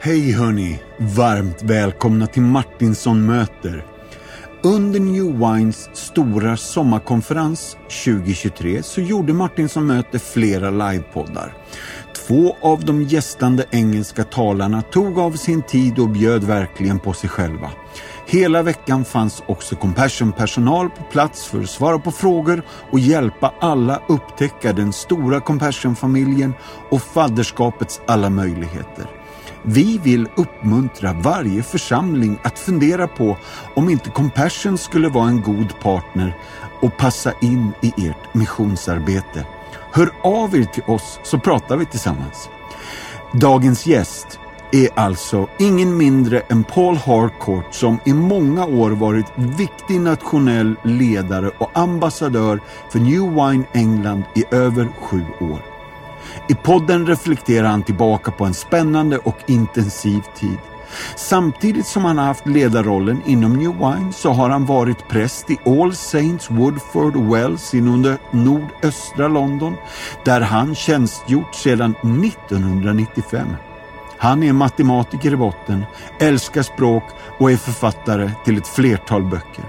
Hej hörni, varmt välkomna till Martinsson möter. Under New Wines stora sommarkonferens 2023 så gjorde Martinsson möter flera livepoddar. 2 av de gästande engelska talarna tog av sin tid och bjöd verkligen på sig själva. Hela veckan fanns också Compassion-personal på plats för att svara på frågor och hjälpa alla upptäcka den stora Compassion-familjen och fadderskapets alla möjligheter. Vi vill uppmuntra varje församling att fundera på om inte Compassion skulle vara en god partner och passa in i ert missionsarbete. Hör av er till oss så pratar vi tillsammans. Dagens gäst är alltså ingen mindre än Paul Harcourt, som i många år varit viktig nationell ledare och ambassadör för New Wine England i över 7 år. I podden reflekterar han tillbaka på en spännande och intensiv tid. Samtidigt som han har haft ledarrollen inom New Wine så har han varit präst i All Saints Woodford Wells i nordöstra London, där han tjänstgjort sedan 1995. Han är matematiker i botten, älskar språk och är författare till ett flertal böcker.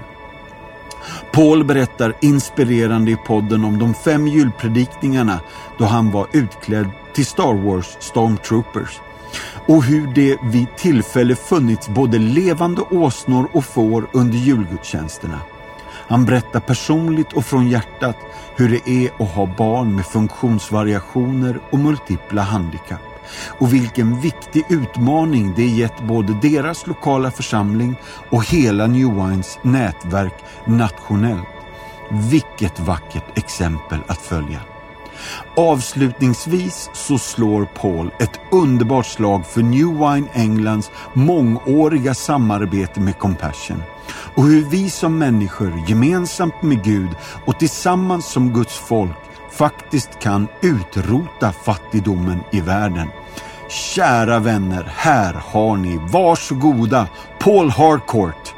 Paul berättar inspirerande i podden om de 5 julpredikningarna då han var utklädd till Star Wars Stormtroopers och hur det vid tillfälle funnits både levande åsnor och får under julgudstjänsterna. Han berättar personligt och från hjärtat hur det är att ha barn med funktionsvariationer och multipla handikapp och vilken viktig utmaning det gett både deras lokala församling och hela New Wines nätverk nationellt. Vilket vackert exempel att följa. Avslutningsvis så slår Paul ett underbart slag för New Wine Englands mångåriga samarbete med Compassion och hur vi som människor gemensamt med Gud och tillsammans som Guds folk faktiskt kan utrota fattigdomen i världen. Kära vänner, här har ni, varsågoda, Paul Harcourt.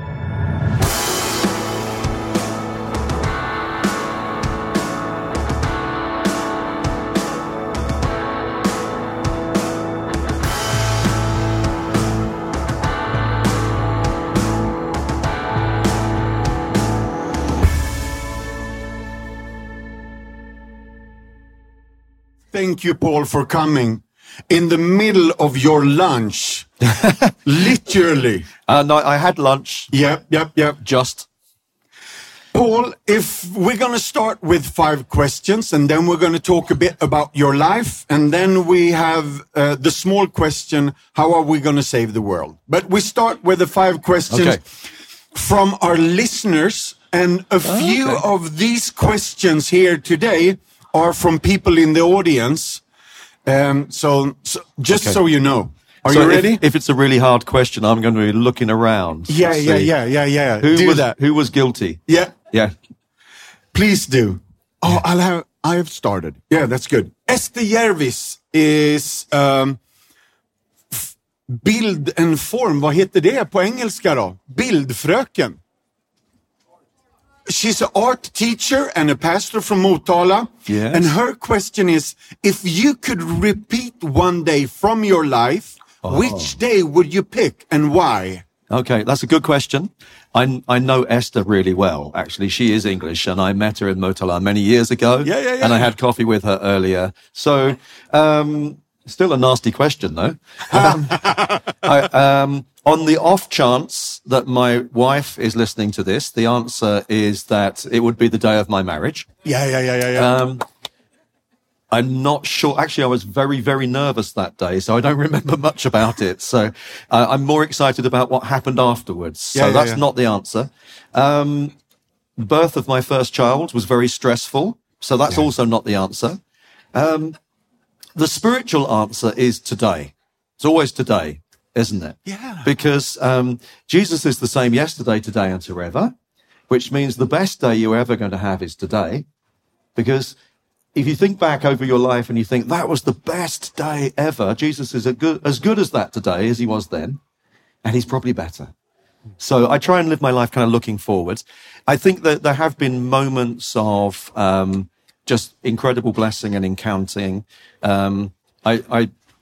Thank you, Paul, for coming in the middle of your lunch. Literally. No, I had lunch. Yep. Just. Paul, if we're going to start with 5 questions and then we're going to talk a bit about your life and then we have the small question, how are we going to save the world? But we start with the 5 questions from our listeners, and a few of these questions here today are from people in the audience. So you know. Are you ready? If it's a really hard question, I'm going to be looking around. Yeah. Who was guilty? Yeah. Please do. Oh, I have started. Yeah, that's good. Esther Järvis is bild and form. Vad heter det på engelska då? Bildfröken. She's an art teacher and a pastor from Motala. Yes. And her question is, if you could repeat one day from your life, which day would you pick and why? Okay, that's a good question. I know Esther really well, actually. She is English, and I met her in Motala many years ago. Yeah. And I had coffee with her earlier. So, still a nasty question, though. On the off chance that my wife is listening to this, the answer is that it would be the day of my marriage. Yeah. I'm not sure. Actually, I was very, very nervous that day, so I don't remember much about it. So I'm more excited about what happened afterwards. So that's not the answer. Birth of my first child was very stressful, so that's also not the answer. The spiritual answer is today. It's always today, isn't it? Yeah. Because Jesus is the same yesterday, today, and forever, which means the best day you're ever going to have is today. Because if you think back over your life and you think that was the best day ever, Jesus is as good as that today as he was then, and he's probably better. So I try and live my life kind of looking forward. I think that there have been moments of just incredible blessing and encountering.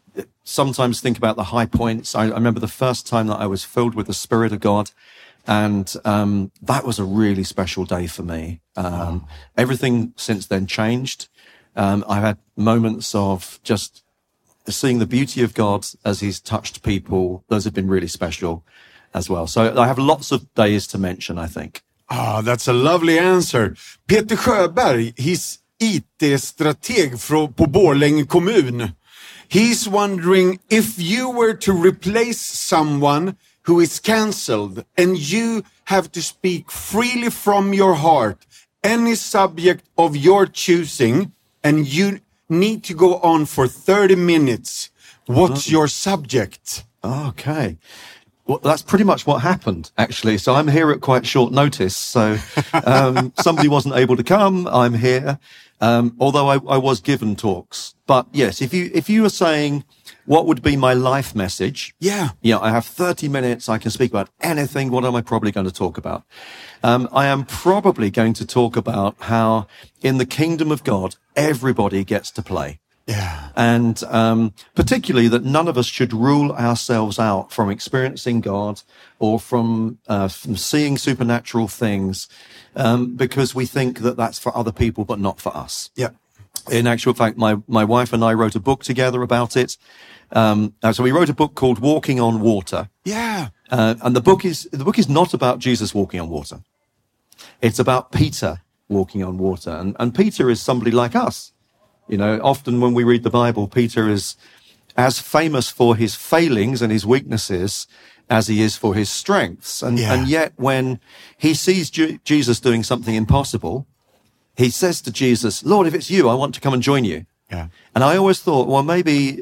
sometimes think about the high points. I remember the first time that I was filled with the Spirit of God. And that was a really special day for me. Everything since then changed. I've had moments of just seeing the beauty of God as he's touched people. Those have been really special as well. So I have lots of days to mention, I think. That's a lovely answer. Peter Sjöberg, he's IT-strateg på Borlänge kommun. He's wondering if you were to replace someone who is cancelled and you have to speak freely from your heart, any subject of your choosing, and you need to go on for 30 minutes. What's your subject? Okay. Well, that's pretty much what happened, actually. So I'm here at quite short notice. So somebody wasn't able to come. I'm here. Although I was given talks. But yes, if you were saying what would be my life message? Yeah. I have 30 minutes. I can speak about anything. What am I probably going to talk about? I am probably going to talk about how in the kingdom of God, everybody gets to play. Yeah. And particularly that none of us should rule ourselves out from experiencing God or from seeing supernatural things because we think that that's for other people, but not for us. Yeah. In actual fact, my wife and I wrote a book together about it. So we wrote a book called Walking on Water. Yeah. And the book is not about Jesus walking on water. It's about Peter walking on water. And Peter is somebody like us. Often when we read the Bible, Peter is as famous for his failings and his weaknesses as he is for his strengths. And yet when he sees Jesus doing something impossible, he says to Jesus, Lord, if it's you, I want to come and join you. Yeah. And I always thought, well, maybe,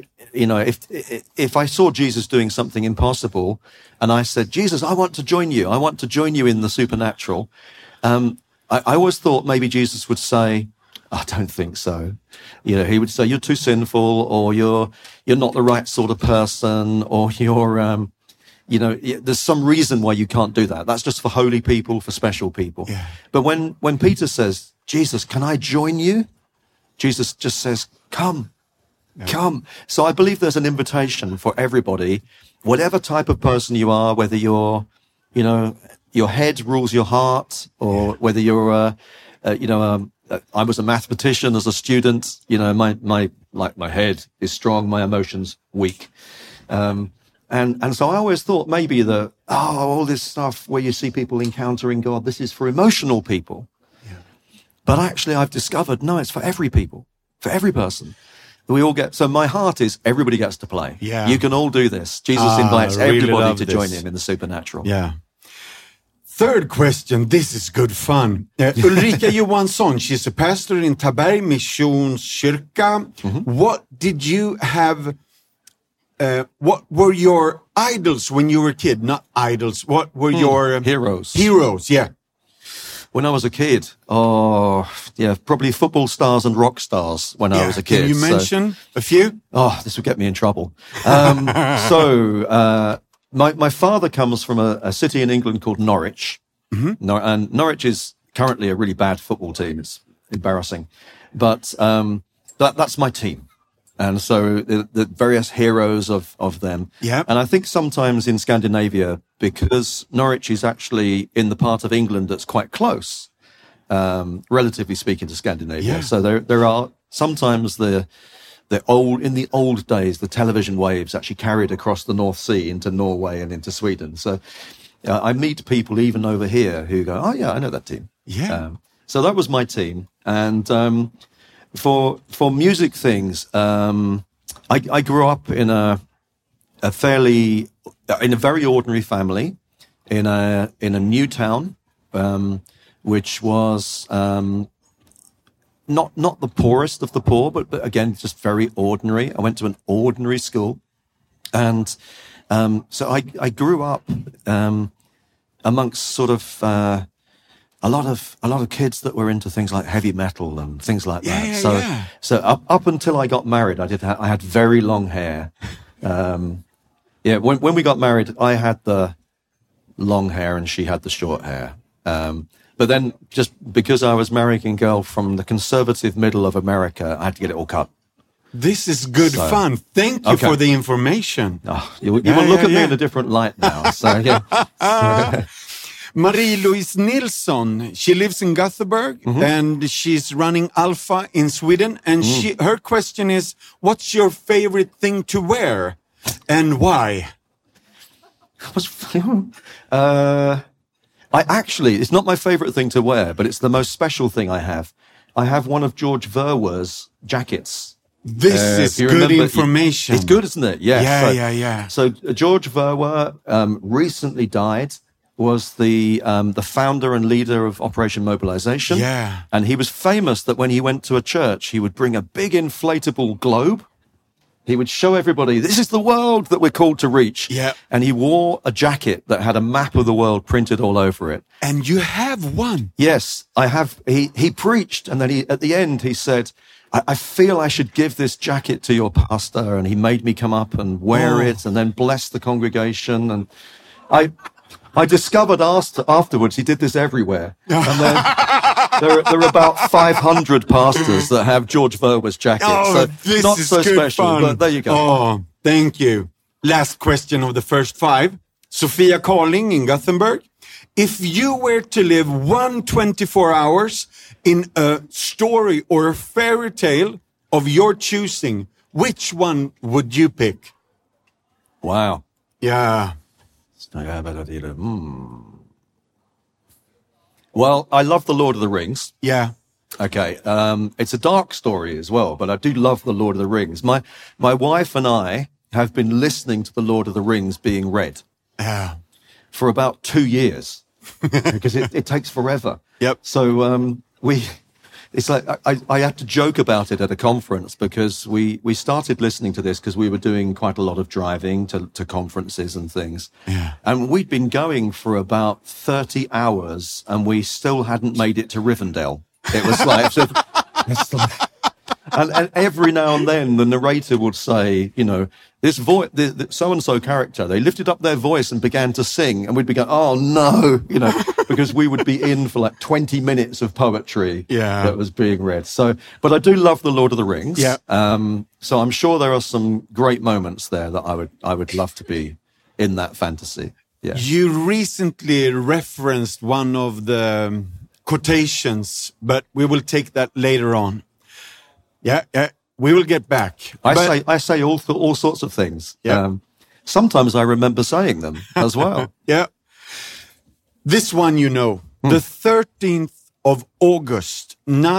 if I saw Jesus doing something impossible and I said, Jesus, I want to join you. I want to join you in the supernatural. I always thought maybe Jesus would say, I don't think so. He would say, you're too sinful, or you're not the right sort of person, or you're, there's some reason why you can't do that. That's just for holy people, for special people. Yeah. But when Peter says, Jesus, can I join you? Jesus just says, come. So I believe there's an invitation for everybody, whatever type of person you are, whether you're, your head rules your heart, or whether you're, I was a mathematician as a student. My head is strong, my emotions weak. And so I always thought maybe that, all this stuff where you see people encountering God, this is for emotional people. Yeah. But actually I've discovered, no, it's for every people, for every person. We all get, so my heart is everybody gets to play. Yeah. You can all do this. Jesus invites everybody to join him in the supernatural. Yeah. Third question, this is good fun. Ulrika Johansson, she's a pastor in Taberg Missionskyrka. Mm-hmm. What did you have, what were your idols when you were a kid? Not idols, what were your... Heroes. Heroes, yeah. When I was a kid, probably football stars and rock stars when I was a kid. Can you mention a few? This would get me in trouble. My father comes from a city in England called Norwich. Mm-hmm. And Norwich is currently a really bad football team. It's embarrassing. But that's my team. And so the various heroes of them. Yeah. And I think sometimes in Scandinavia, because Norwich is actually in the part of England that's quite close, relatively speaking to Scandinavia. Yeah. So there are sometimes in the old days, the television waves actually carried across the North Sea into Norway and into Sweden. So I meet people even over here who go, oh yeah, I know that team. Yeah. So that was my team. And for music things, I grew up in a very ordinary family in a new town, which was not the poorest of the poor, but again, just very ordinary. I went to an ordinary school. And so I grew up amongst sort of a lot of kids that were into things like heavy metal and things like that. So up until I got married, I had very long hair. When we got married, I had the long hair and she had the short hair. But then just because I was marrying a girl from the conservative middle of America, I had to get it all cut. This is good So- fun. Thank you Okay. for the information. Oh, you will look at me in a different light now. So yeah. Marie-Louise Nilsson, she lives in Gothenburg and she's running Alpha in Sweden. And her question is, what's your favorite thing to wear and why? It's not my favorite thing to wear, but it's the most special thing I have. I have one of George Verwer's jackets. This is If you good remember- information. It's good, isn't it? Yeah. Yeah. So George Verwer recently died. Was the founder and leader of Operation Mobilization. Yeah. And he was famous that when he went to a church, he would bring a big inflatable globe. He would show everybody, this is the world that we're called to reach. Yeah. And he wore a jacket that had a map of the world printed all over it. And you have one. Yes, I have. He preached, and then at the end he said, I feel I should give this jacket to your pastor. And he made me come up and wear it and then bless the congregation. And I discovered afterwards he did this everywhere. And then there are about 500 pastors that have George Verwer's jacket. so this not is so good special, fun. but there you go. Oh, thank you. Last question of the first 5. Sophia Carling in Gothenburg. If you were to live 124 hours in a story or a fairy tale of your choosing, which one would you pick? Wow. Yeah. Well, I love The Lord of the Rings. Yeah. Okay. It's a dark story as well, but I do love The Lord of the Rings. My wife and I have been listening to The Lord of the Rings being read Yeah. for about 2 years because it takes forever. Yep. So, it's like I had to joke about it at a conference because we started listening to this because we were doing quite a lot of driving to conferences and things. Yeah. And we'd been going for about 30 hours and we still hadn't made it to Rivendell. It was like, and every now and then the narrator would say, you know, this voice, the so-and-so character, they lifted up their voice and began to sing, and we'd be going, oh no, you know, because we would be in for like 20 minutes of poetry that was being read. So, but I do love The Lord of the Rings. Yeah. So I'm sure there are some great moments there that I would love to be in that fantasy. Yeah. You recently referenced one of the quotations, but we will take that later on. Yeah. We will get back. I say all sorts of things. Yeah. Sometimes I remember saying them as well. Yeah. This one, you know, the 13th of August,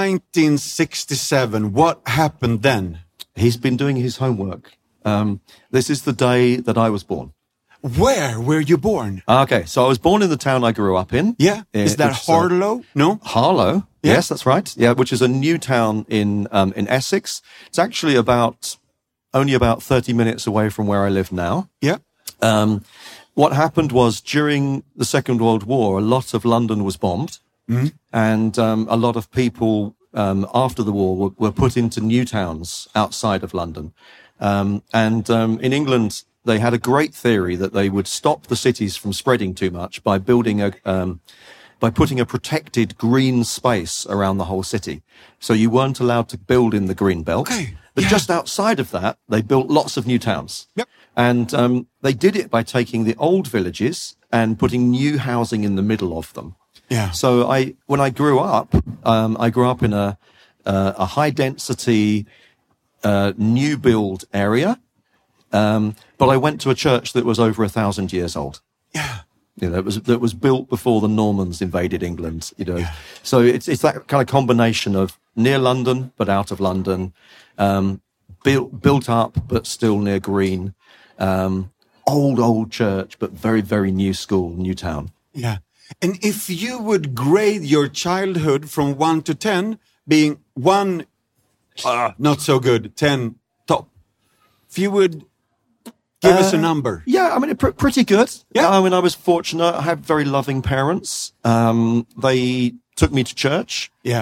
1967. What happened then? He's been doing his homework. This is the day that I was born. Where were you born? Okay, so I was born in the town I grew up in. Yeah. Is that Harlow? No? Harlow. Yeah. Yes, that's right. Yeah, which is a new town in Essex. It's actually only about 30 minutes away from where I live now. Yeah. What happened was during the Second World War, a lot of London was bombed, and a lot of people after the war were put into new towns outside of London. In England, they had a great theory that they would stop the cities from spreading too much by building by putting a protected green space around the whole city. So you weren't allowed to build in the green belt. Okay. But Yeah. just outside of that, they built lots of new towns. Yep. And they did it by taking the old villages and putting new housing in the middle of them. Yeah. So when I grew up in a high density new build area. But I went to a church that was over 1,000 years old. Yeah. You know, that was built before the Normans invaded England, you know. Yeah. So it's that kind of combination of near London, but out of London, built up, but still near green, old church, but very, very new school, new town. Yeah. And if you would grade your childhood from 1 to 10, being 1, not so good, 10, top. If you would give us a number. Yeah, I mean, pretty good. Yeah. I mean, I was fortunate. I had very loving parents. They took me to church. Yeah.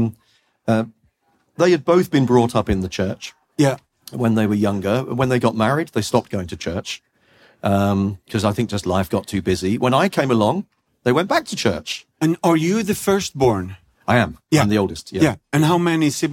They had both been brought up in the church. Yeah. When they were younger. When they got married, they stopped going to church. Because I think just life got too busy. When I came along, they went back to church. And are you the firstborn? I am. Yeah. I'm the oldest. Yeah. And how many siblings?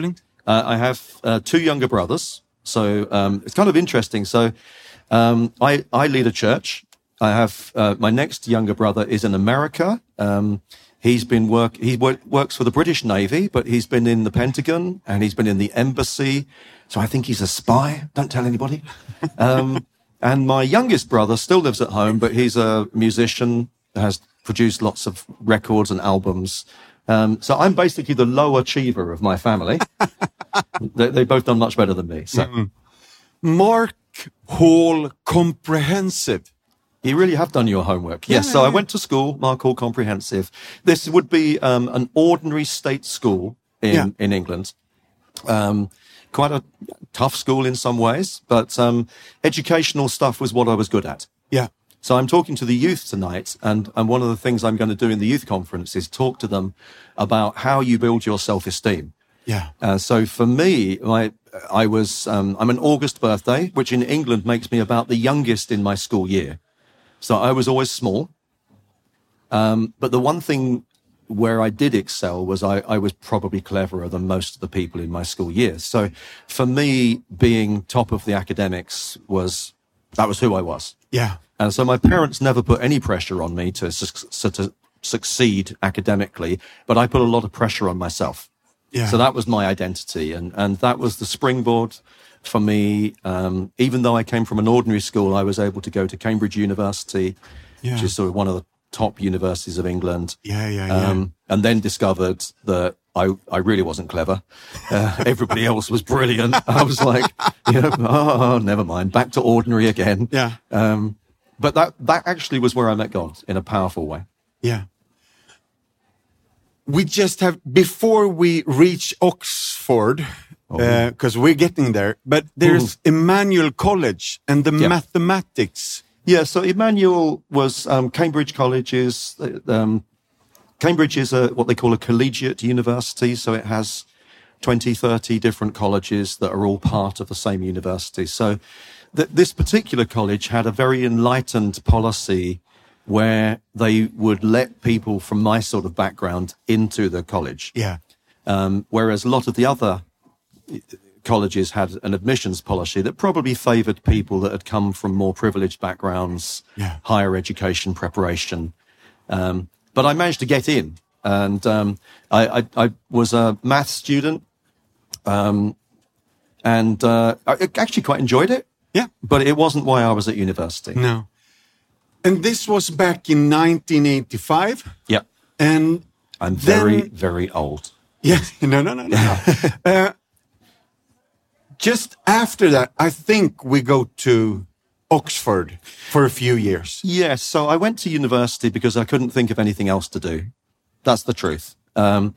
I have 2 younger brothers. So it's kind of interesting. So I lead a church. I have my next younger brother is in America. He works for the British Navy, but he's been in the Pentagon and he's been in the embassy. So I think he's a spy. Don't tell anybody. And my youngest brother still lives at home, but he's a musician, has produced lots of records and albums. So I'm basically the low achiever of my family. They've both done much better than me. So. Mark Hall Comprehensive. You really have done your homework. Yes, so I went to school, Mark Hall Comprehensive. This would be an ordinary state school in England. Quite a tough school in some ways, but educational stuff was what I was good at. Yeah. So I'm talking to the youth tonight, and one of the things I'm going to do in the youth conference is talk to them about how you build your self-esteem. Yeah. So for me, I'm an August birthday, which in England makes me about the youngest in my school year. So I was always small. But the one thing where I did excel was I was probably cleverer than most of the people in my school years. So for me, being top of the academics was who I was. Yeah. And so my parents never put any pressure on me to succeed academically, but I put a lot of pressure on myself. Yeah. So that was my identity. And that was the springboard for me. Even though I came from an ordinary school, I was able to go to Cambridge University, which is sort of one of the top universities of England. And then discovered that I really wasn't clever. Everybody else was brilliant. I was like, never mind, back to ordinary again. Yeah. But that actually was where I met God in a powerful way. Yeah. We just have, before we reach Oxford, because we're getting there, but there's Emmanuel College and the mathematics. Yeah, so Emmanuel was Cambridge College Cambridge is what they call a collegiate university, so it has 20, 30 different colleges that are all part of the same university. So this particular college had a very enlightened policy where they would let people from my sort of background into the college. Yeah. Whereas a lot of the other colleges had an admissions policy that probably favored people that had come from more privileged backgrounds, higher education preparation. But I managed to get in, and I was a math student, and I actually quite enjoyed it. Yeah. But it wasn't why I was at university. No. And this was back in 1985. Yeah. And I'm very old. Yes. No. Just after that, I think we go to Oxford for a few years. Yes. So I went to university because I couldn't think of anything else to do. That's the truth. I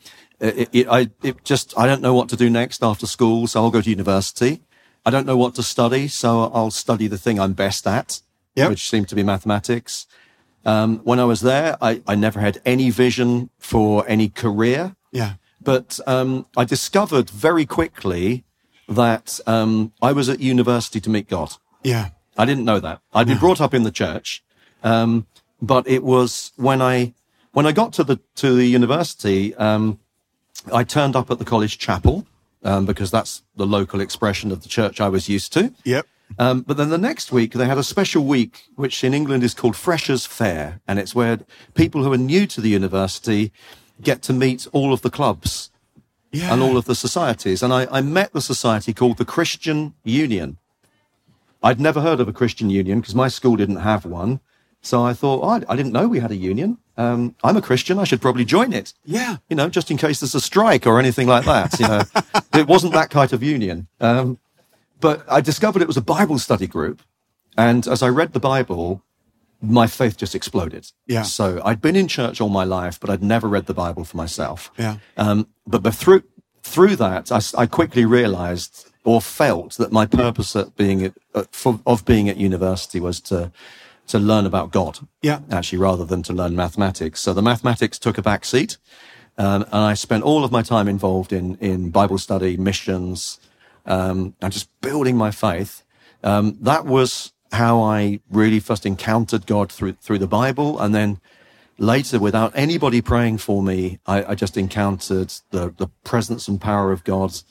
don't know what to do next after school, so I'll go to university. I don't know what to study, so I'll study the thing I'm best at, which seemed to be mathematics. When I was there, I never had any vision for any career. Yeah. But I discovered very quickly that I was at university to meet God. Yeah. I didn't know that. I'd been brought up in the church, but it was when I got to the university, I turned up at the college chapel because that's the local expression of the church I was used to. Yep. But then the next week they had a special week, which in England is called Freshers' Fair, and it's where people who are new to the university get to meet all of the clubs and all of the societies. And I met the society called the Christian Union. I'd never heard of a Christian Union because my school didn't have one. So I thought, I didn't know we had a union. I'm a Christian. I should probably join it. Yeah. Just in case there's a strike or anything like that. It wasn't that kind of union. But I discovered it was a Bible study group. And as I read the Bible, my faith just exploded. Yeah. So I'd been in church all my life, but I'd never read the Bible for myself. Yeah. But through that, I quickly realized or felt that my purpose of being at university was to learn about God. Yeah. Actually, rather than to learn mathematics. So the mathematics took a back seat. And I spent all of my time involved in Bible study, missions, and just building my faith. That was how I really first encountered God through the Bible. And then later, without anybody praying for me, I just encountered the presence and power of God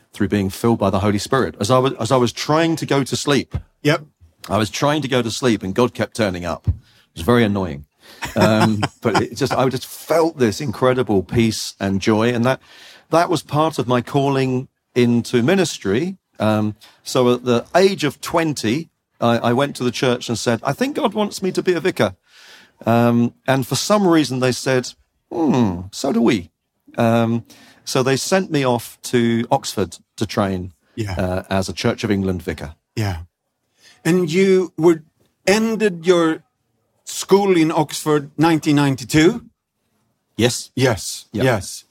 through being filled by the Holy Spirit. As I was trying to go to sleep, Yep. I was trying to go to sleep and God kept turning up. It was very annoying. But I just felt this incredible peace and joy. And that was part of my calling into ministry. So at the age of 20, I went to the church and said, I think God wants me to be a vicar. And for some reason they said, so do we. So they sent me off to Oxford to train as a Church of England vicar. Yeah. And you ended your school in Oxford 1992? Yes. Yes. Yep. Yes.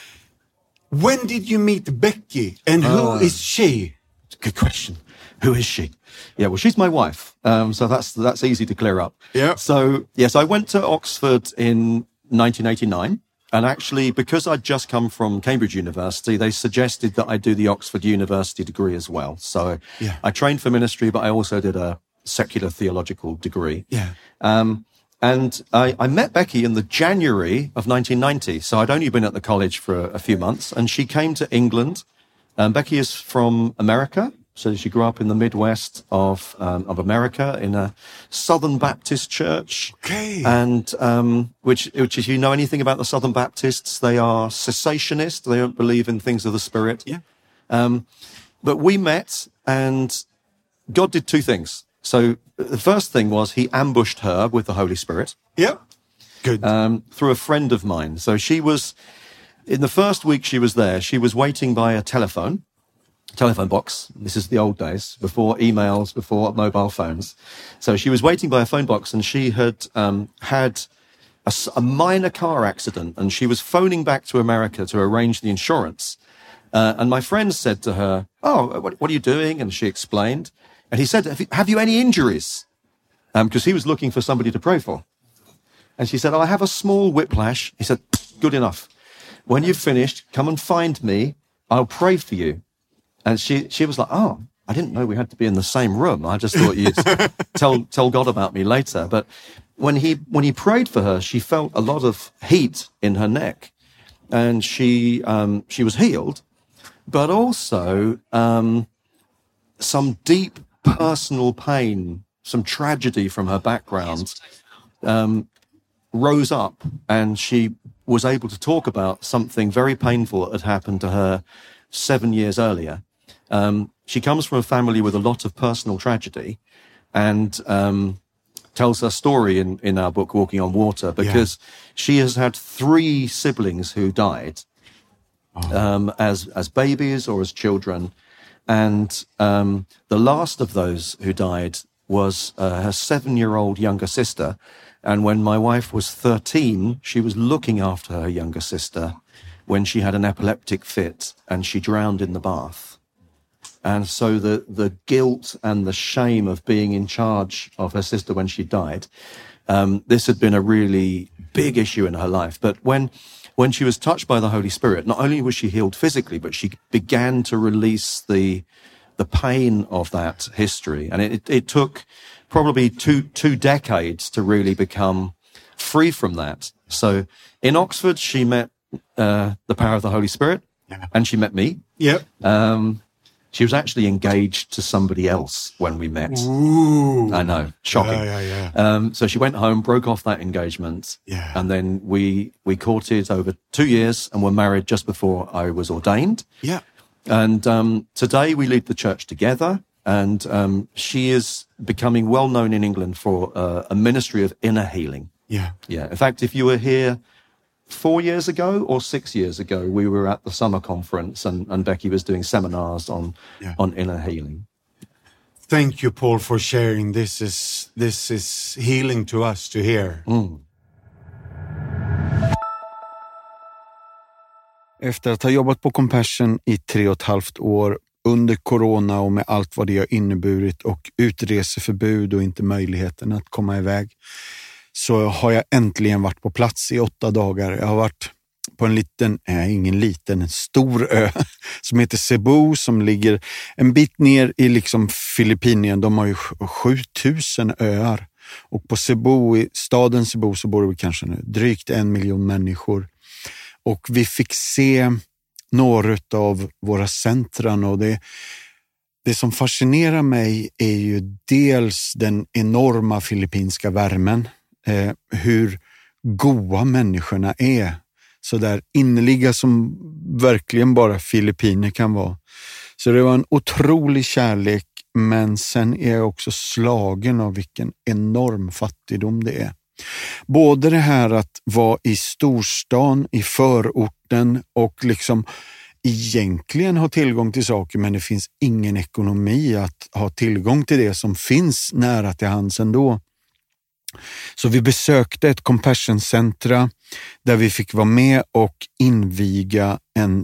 When did you meet Becky? And who is she? Good question. Who is she? Yeah, well, she's my wife. So that's easy to clear up. Yeah. So, yes, I went to Oxford in 1989. And actually, because I'd just come from Cambridge University, they suggested that I do the Oxford University degree as well. So I trained for ministry, but I also did a secular theological degree. Yeah. And I met Becky in the January of 1990. So I'd only been at the college for a few months, and she came to England. Becky is from America. So she grew up in the Midwest of America in a Southern Baptist church. Okay. And which if you know anything about the Southern Baptists, they are cessationist. They don't believe in things of the Spirit. Yeah. But we met, and God did two things. So the first thing was he ambushed her with the Holy Spirit. Yeah. Good. Through a friend of mine. So she was, in the first week she was there, she was waiting by a telephone box. This is the old days, before emails, before mobile phones. So she was waiting by a phone box, and she had had a minor car accident, and she was phoning back to America to arrange the insurance. And my friend said to her, what are you doing? And she explained. And he said, have you any injuries? Because he was looking for somebody to pray for. And she said, I have a small whiplash. He said, good enough. When you've finished, come and find me. I'll pray for you. And she was like, I didn't know we had to be in the same room. I just thought you'd tell God about me later. But when he prayed for her, she felt a lot of heat in her neck, and she was healed, but also some deep personal pain, some tragedy from her background rose up, and she was able to talk about something very painful that had happened to her 7 years earlier. She comes from a family with a lot of personal tragedy, and tells her story in our book, Walking on Water, because she has had 3 siblings who died as babies or as children. And the last of those who died was her 7-year-old younger sister. And when my wife was 13, she was looking after her younger sister when she had an epileptic fit and she drowned in the bath. And so the guilt and the shame of being in charge of her sister when she died, this had been a really big issue in her life. But when she was touched by the Holy Spirit, not only was she healed physically, but she began to release the pain of that history. And it took probably two decades to really become free from that. So in Oxford, she met the power of the Holy Spirit, and she met me. Yep. She was actually engaged to somebody else when we met. Ooh. I know, shocking. Yeah. So she went home, broke off that engagement, and then we courted over 2 years and were married just before I was ordained. Yeah. And today we lead the church together, and she is becoming well known in England for a ministry of inner healing. Yeah. Yeah. In fact, if you were here 4 years ago or 6 years ago, we were at the summer conference, and Becky was doing seminars on inner healing. Thank you, Paul, for sharing. This is healing to us to hear. Efter att ha jobbat på Compassion i 3,5 år under corona och med allt vad det har inneburit och utreseförbud och inte möjligheten att komma iväg, så har jag äntligen varit på plats i 8 dagar. Jag har varit på en stor ö som heter Cebu, som ligger en bit ner i liksom Filippinien. De har ju 7000 öar. Och på Cebu, i staden Cebu, så bor det kanske nu drygt 1 miljon människor. Och vi fick se några av våra centran, och det som fascinerar mig är ju dels den enorma filippinska värmen, hur goda människorna är, så där innerliga som verkligen bara filippiner kan vara. Så det var en otrolig kärlek, men sen är jag också slagen av vilken enorm fattigdom det är. Både det här att vara i storstan, i förorten och liksom egentligen ha tillgång till saker, men det finns ingen ekonomi att ha tillgång till det som finns nära till hands ändå. Så vi besökte ett compassion-centra där vi fick vara med och inviga en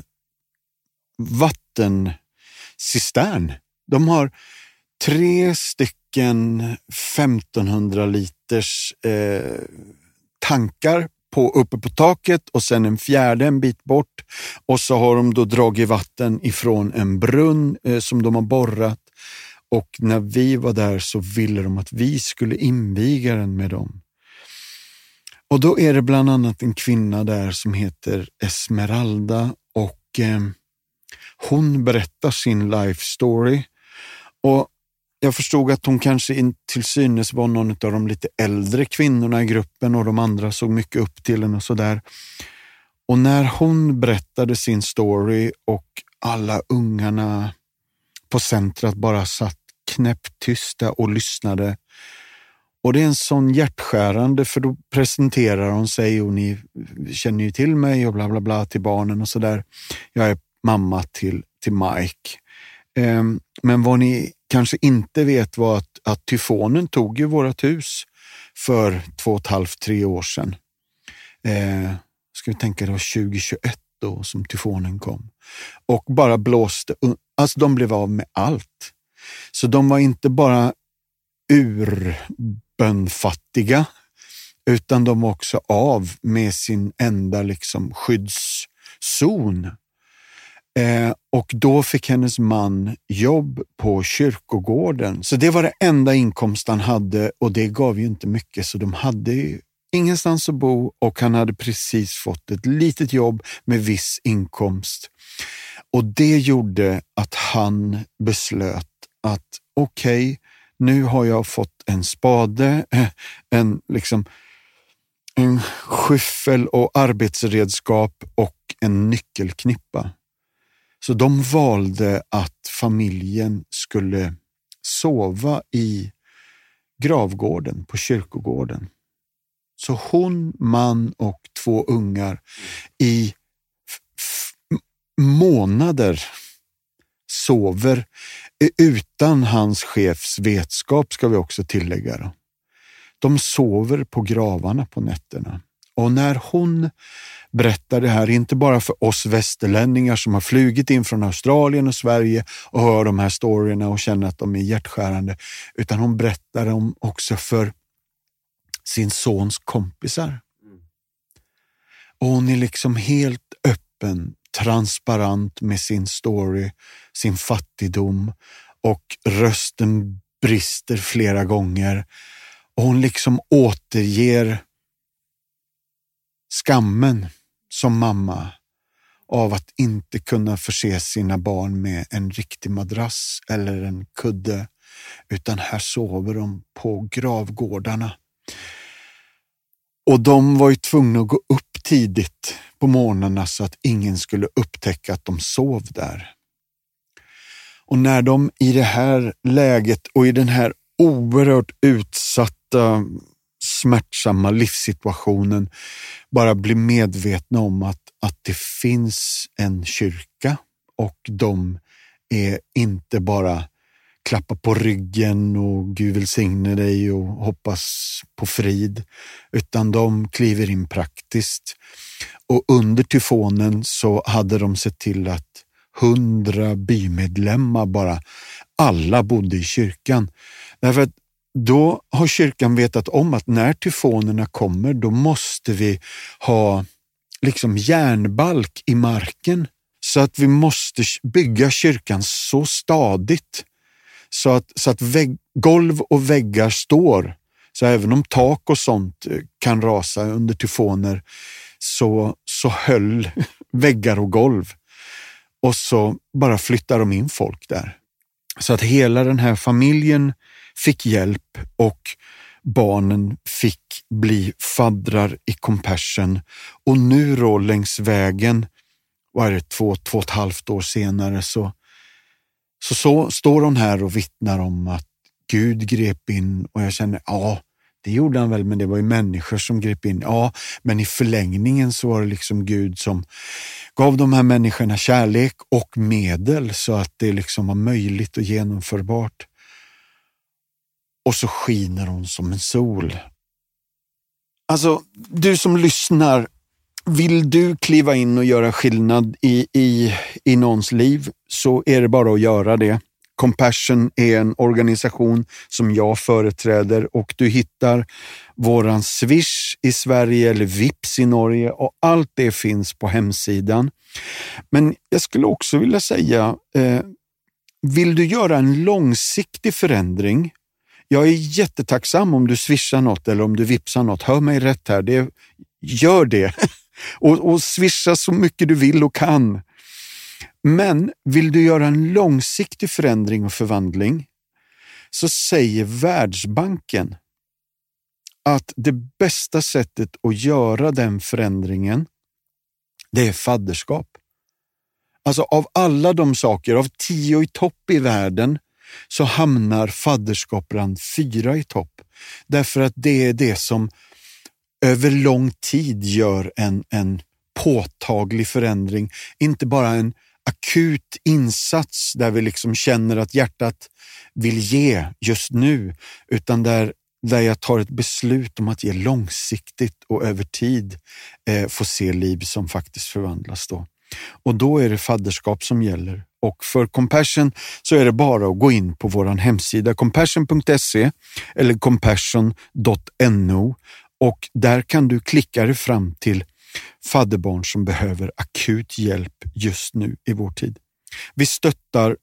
vattencistern. De har 3 stycken 1500 liters tankar uppe på taket, och sen en fjärde en bit bort, och så har de då dragit vatten ifrån en brunn som de har borrat, och när vi var där så ville de att vi skulle inviga den med dem. Och då är det bland annat en kvinna där som heter Esmeralda, och hon berättar sin life story, och jag förstod att hon kanske till synes var någon av de lite äldre kvinnorna i gruppen, och de andra såg mycket upp till henne och sådär. Och när hon berättade sin story och alla ungarna på centret bara satt knäpptysta och lyssnade. Och det är en sån hjärtskärande, för då presenterar hon sig, och ni känner ju till mig och bla bla bla till barnen och sådär. Jag är mamma till Mike. Men vad ni kanske inte vet var att tyfonen tog ju vårat hus för 2,5-3 år sedan. Ska vi tänka, det var 2021 då som tyfonen kom. Och bara blåste, alltså de blev av med allt. Så de var inte bara urbönfattiga, utan de var också av med sin enda liksom skyddszon. Och då fick hennes man jobb på kyrkogården. Så det var det enda inkomst han hade, och det gav ju inte mycket, så de hade ju ingenstans att bo, och han hade precis fått ett litet jobb med viss inkomst. Och det gjorde att han beslöt att okej, nu har jag fått en spade, en skyffel och arbetsredskap och en nyckelknippa. Så de valde att familjen skulle sova i gravgården på kyrkogården. Så hon, man och 2 ungar i månader sover utan hans chefs vetskap, ska vi också tillägga då. De sover på gravarna på nätterna. Och när hon berättar det här, inte bara för oss västerlänningar som har flugit in från Australien och Sverige och hör de här storyerna och känner att de är hjärtskärande, utan hon berättar dem också för sin sons kompisar. Och hon är liksom helt öppen, transparent med sin story, sin fattigdom, och rösten brister flera gånger. Och hon liksom återger skammen som mamma av att inte kunna förse sina barn med en riktig madrass eller en kudde, utan här sover de på gravgårdarna. Och de var ju tvungna att gå upp tidigt på morgnarna så att ingen skulle upptäcka att de sov där. Och när de i det här läget och i den här oerhört utsatta, smärtsamma livssituationen bara blir medvetna om att det finns en kyrka, och de är inte bara klappa på ryggen och Gud välsigne dig och hoppas på frid, utan de kliver in praktiskt. Och under tyfonen så hade de sett till att 100 bymedlemmar bara, alla bodde i kyrkan. Därför att då har kyrkan vetat om att när tyfonerna kommer, då måste vi ha liksom järnbalk i marken, så att vi måste bygga kyrkan så stadigt så att golv och väggar står. Så även om tak och sånt kan rasa under tyfoner, så höll väggar och golv. Och så bara flyttar de in folk där. Så att hela den här familjen fick hjälp och barnen fick bli faddrar i Compassion. Och nu då längs vägen, vad är det, 2,5 år senare så står hon här och vittnar om att Gud grep in. Och jag känner, ja, det gjorde han väl, men det var ju människor som grep in. Ja, men i förlängningen så var det liksom Gud som gav de här människorna kärlek och medel så att det liksom var möjligt och genomförbart. Och så skiner hon som en sol. Alltså, du som lyssnar, vill du kliva in och göra skillnad i någons liv, så är det bara att göra det. Compassion är en organisation som jag företräder och du hittar våran Swish i Sverige eller Vips i Norge och allt det finns på hemsidan. Men jag skulle också vilja säga, vill du göra en långsiktig förändring? Jag är jättetacksam om du swishar något eller om du vipsar något. Hör mig rätt här, gör det. och swisha så mycket du vill och kan. Men vill du göra en långsiktig förändring och förvandling, så säger Världsbanken att det bästa sättet att göra den förändringen, det är fadderskap. Alltså av alla de saker, av 10 i topp i världen, så hamnar fadderskap bland 4 i topp. Därför att det är det som över lång tid gör en påtaglig förändring. Inte bara en akut insats där vi liksom känner att hjärtat vill ge just nu, utan där jag tar ett beslut om att ge långsiktigt och över tid få se liv som faktiskt förvandlas då. Och då är det fadderskap som gäller. Och för Compassion så är det bara att gå in på vår hemsida compassion.se eller compassion.no och där kan du klicka dig fram till fadderbarn som behöver akut hjälp just nu i vår tid. Vi stöttar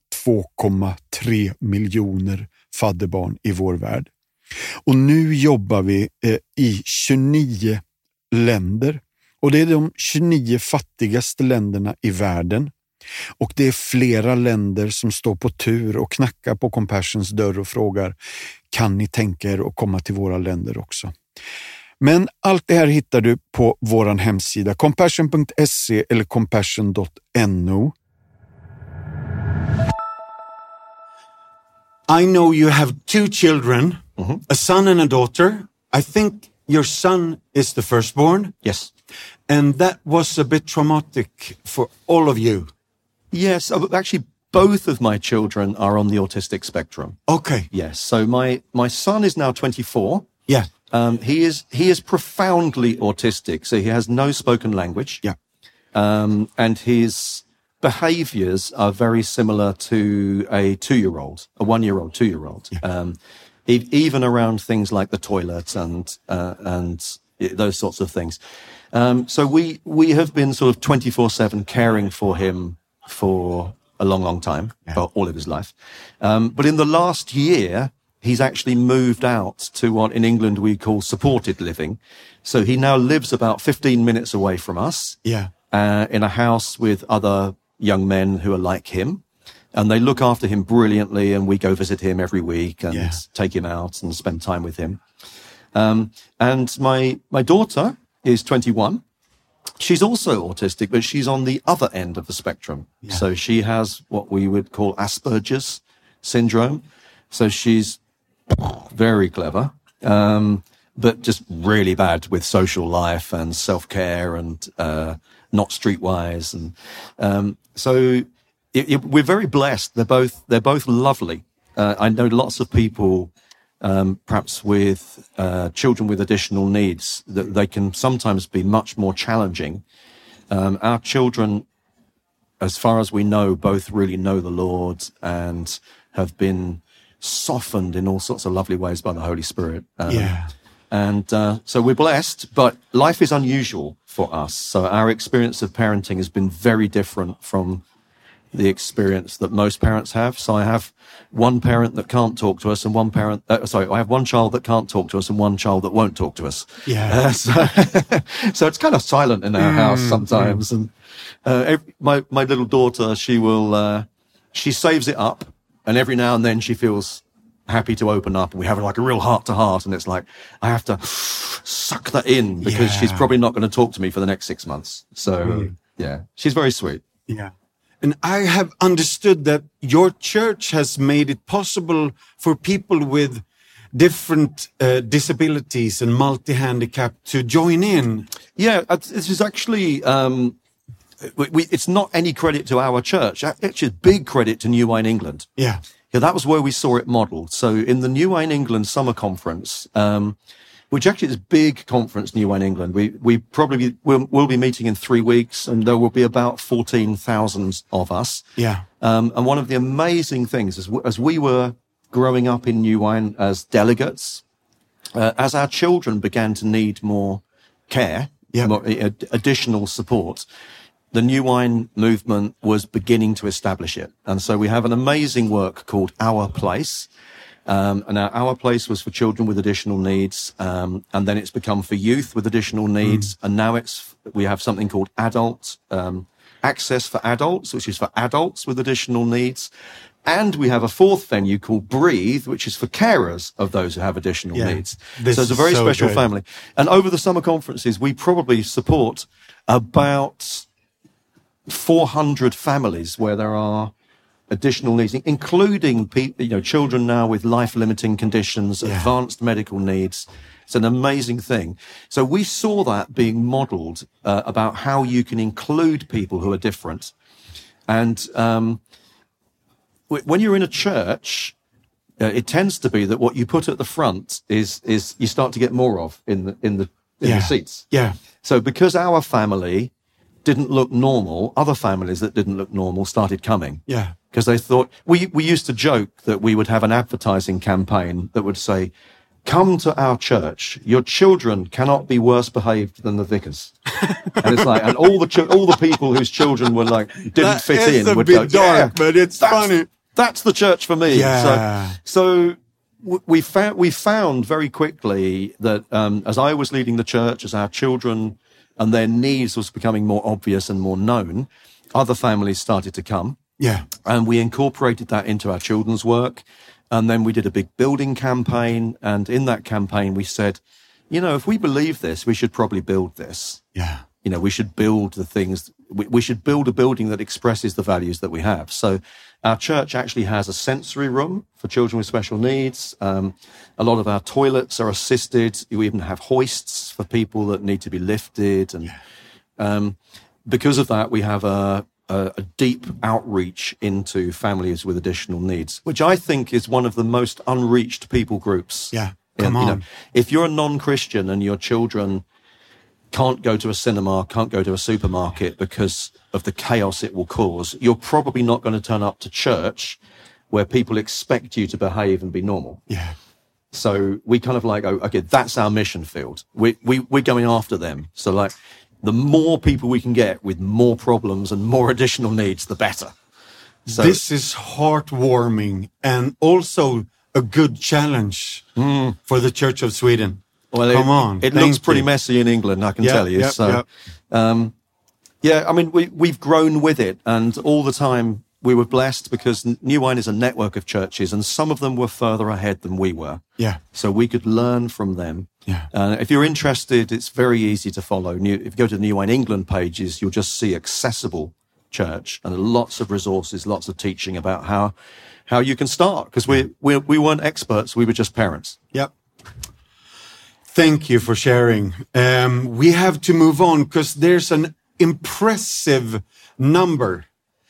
2,3 miljoner fadderbarn i vår värld. Och nu jobbar vi i 29 länder. Och det är de 29 fattigaste länderna i världen. Och det är flera länder som står på tur och knackar på Compassions dörr och frågar, kan ni tänka er att komma till våra länder också? Men allt det här hittar du på vår hemsida compassion.se eller compassion.no. I know you have 2 children, a son and a daughter. I think your son is the firstborn. Yes. And that was a bit traumatic for all of you. Yes, actually both of my children are on the autistic spectrum. Okay. Yes, so my son is now 24. Yeah. He is profoundly autistic, so he has no spoken language. Yeah. And his behaviors are very similar to a 2-year-old, a 1-year-old, 2-year-old. Yeah. Even around things like the toilet and those sorts of things. So we have been sort of 24/7 caring for him for a long time, all of his life. But in the last year, he's actually moved out to what in England we call supported living. So he now lives about 15 minutes away from us, in a house with other young men who are like him. And they look after him brilliantly, and we go visit him every week and take him out and spend time with him. And my daughter is 21. She's also autistic, but she's on the other end of the spectrum. Yeah. So she has what we would call Asperger's syndrome. So she's very clever, but just really bad with social life and self-care and not streetwise. And so we're very blessed. They're both lovely. I know lots of people, perhaps with children with additional needs, that they can sometimes be much more challenging. Our children, as far as we know, both really know the Lord and have been softened in all sorts of lovely ways by the Holy Spirit. And so we're blessed, but life is unusual for us. So our experience of parenting has been very different from the experience that most parents have. So I have one parent that can't talk to us and one parent, I have one child that can't talk to us and one child that won't talk to us. Yeah. So it's kind of silent in our house sometimes. And my little daughter, she saves it up, and every now and then she feels happy to open up, and we have like a real heart to heart, and it's like I have to suck that in because she's probably not going to talk to me for the next 6 months. So yeah, she's very sweet. Yeah. And I have understood that your church has made it possible for people with different disabilities and multi-handicap to join in. Yeah, this is actually, it's not any credit to our church. It's big credit to New Wine England. Yeah. Yeah, that was where we saw it modeled. So in the New Wine England Summer Conference, which actually is a big conference, New Wine England, we probably will be meeting in 3 weeks, and there will be about 14,000 of us. Yeah. And one of the amazing things is, as we were growing up in New Wine as delegates, as our children began to need more care, more, additional support, the New Wine movement was beginning to establish it. And so we have an amazing work called Our Place. And our place was for children with additional needs. And then it's become for youth with additional needs. And now we have something called adult, access for adults, which is for adults with additional needs. And we have a fourth venue called Breathe, which is for carers of those who have additional needs. So it's a very special family. And over the summer conferences, we probably support about 400 families where there are additional needs, including children now with life-limiting conditions, advanced medical needs. It's an amazing thing. So we saw that being modeled about how you can include people who are different. And when you're in a church, it tends to be that what you put at the front is you start to get more of in the seats. Yeah. So because our family didn't look normal, other families that didn't look normal started coming. Yeah. Because they thought, we used to joke that we would have an advertising campaign that would say, come to our church, your children cannot be worse behaved than the vicars. And it's like, and all the people whose children were like, didn't fit in would go, dark, but it's funny. That's the church for me. Yeah. So we found very quickly that, as I was leading the church, as our children and their needs was becoming more obvious and more known, other families started to come. Yeah. And we incorporated that into our children's work. And then we did a big building campaign. And in that campaign, we said, if we believe this, we should probably build this. Yeah. We should build the things. We should build a building that expresses the values that we have. So our church actually has a sensory room for children with special needs. A lot of our toilets are assisted. We even have hoists for people that need to be lifted. And because of that, we have a deep outreach into families with additional needs, which I think is one of the most unreached people groups. Yeah, come on. If you're a non-Christian and your children can't go to a cinema, can't go to a supermarket because of the chaos it will cause, you're probably not going to turn up to church where people expect you to behave and be normal. Yeah. So we kind of like, okay, that's our mission field. We're going after them. So like, the more people we can get with more problems and more additional needs, the better. So, this is heartwarming and also a good challenge for the Church of Sweden. Well, Come on. It looks pretty messy in England, I can tell you. I mean, we've grown with it, and all the time we were blessed because New Wine is a network of churches, and some of them were further ahead than we were. Yeah. So we could learn from them. Yeah. If you're interested, it's very easy to follow. If you go to the New Wine England pages, you'll just see accessible church and lots of resources, lots of teaching about how you can start. Because we weren't experts, we were just parents. Yep. Thank you for sharing. We have to move on because there's an impressive number.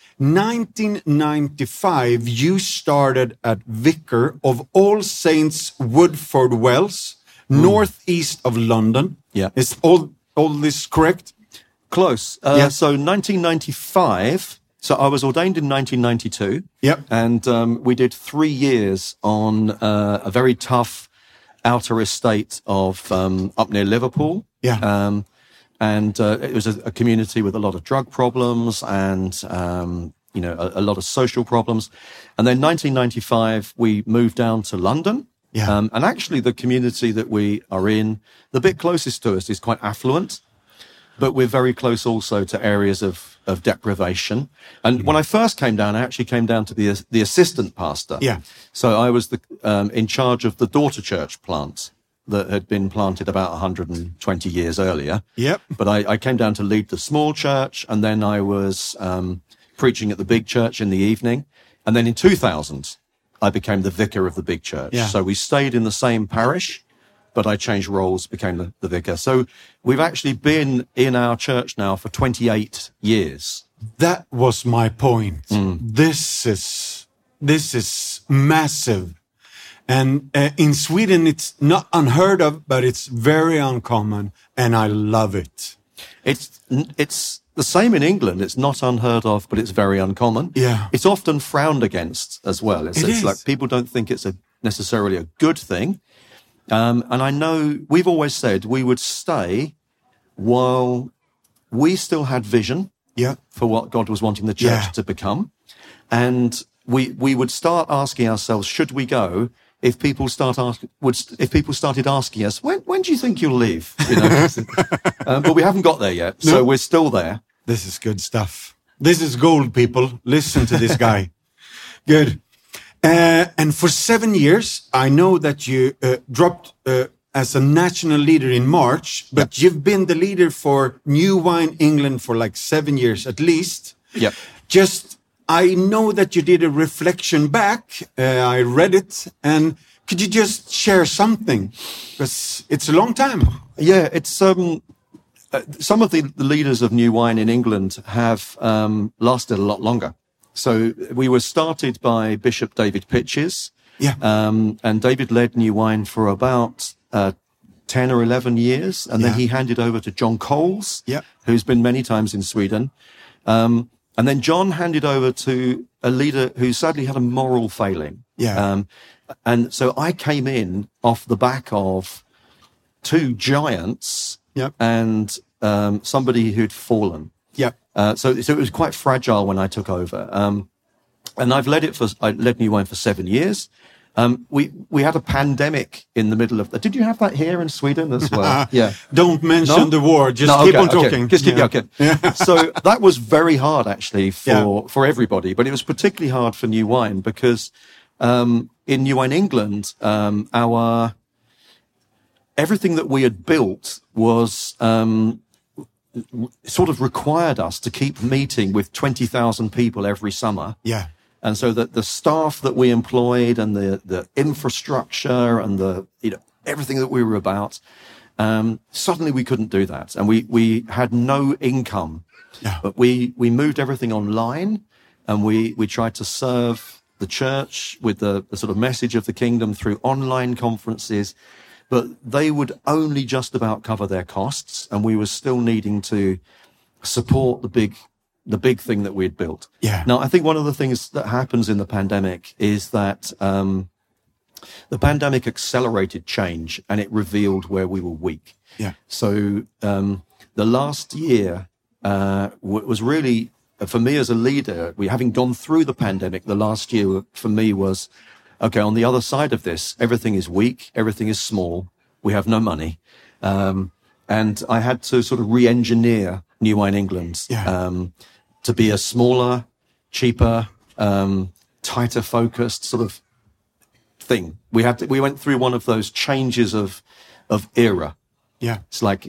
1995, you started at Vicar of All Saints, Woodford Wells, northeast of London. Yeah. Is all this correct? Close. So 1995. So I was ordained in 1992. Yep. And we did 3 years on a very tough outer estate of up near Liverpool. Yeah. And it was a community with a lot of drug problems and a lot of social problems. And then 1995, we moved down to London. Yeah. And actually the community that we are in, the bit closest to us is quite affluent, but we're very close also to areas of deprivation. And when I first came down, I actually came down to be the assistant pastor. Yeah. So I was in charge of the daughter church plant that had been planted about 120 years earlier. Yep. But I came down to lead the small church, and then I was preaching at the big church in the evening. And then in 2000, I became the vicar of the big church. Yeah. So we stayed in the same parish, but I changed roles, became the vicar. So we've actually been in our church now for 28 years. That was my point. This is massive. And in Sweden, it's not unheard of, but it's very uncommon, and I love it. It's the same in England. It's not unheard of, but it's very uncommon. Yeah. It's often frowned against as well. It is. Like people don't think it's necessarily a good thing. And I know we've always said we would stay while we still had vision Yeah. for what God was wanting the church Yeah. to become. And we would start asking ourselves, should we go? If people started asking us, when do you think you'll leave? But we haven't got there yet, so No. we're still there. This is good stuff. This is gold, people. Listen to this guy. Good. And for 7 years, I know that you dropped as a national leader in March, but you've been the leader for New Wine England for like 7 years at least. Yep. I know that you did a reflection back. I read it. And could you just share something? Because it's a long time. Yeah, it's some of the leaders of New Wine in England have lasted a lot longer. So we were started by Bishop David Pitches. Yeah. And David led New Wine for about 10 or 11 years. And then he handed over to John Coles, who's been many times in Sweden. And then John handed over to a leader who sadly had a moral failing. Yeah. And so I came in off the back of two giants and somebody who'd fallen. Yeah. So it was quite fragile when I took over. And I led New Wine for 7 years. We had a pandemic in the middle of did you have that here in Sweden as well? Yeah. Don't mention the war. Just keep on talking. Just keep okay. So that was very hard actually for everybody, but it was particularly hard for New Wine because in New Wine England, everything that we had built was sort of required us to keep meeting with 20,000 people every summer. Yeah. And so that the staff that we employed and the infrastructure and everything that we were about, suddenly we couldn't do that. And we had no income. Yeah. But we moved everything online, and we tried to serve the church with the sort of message of the kingdom through online conferences. But they would only just about cover their costs, and we were still needing to support the big thing that we'd built. Yeah. Now, I think one of the things that happens in the pandemic is that the pandemic accelerated change, and it revealed where we were weak. Yeah. So the last year was really, for me as a leader, having gone through the pandemic, the last year for me was, okay, on the other side of this, everything is weak, everything is small, we have no money. And I had to sort of re-engineer New Wine England to be a smaller, cheaper, tighter focused sort of thing. We went through one of those changes of era. Yeah. It's like,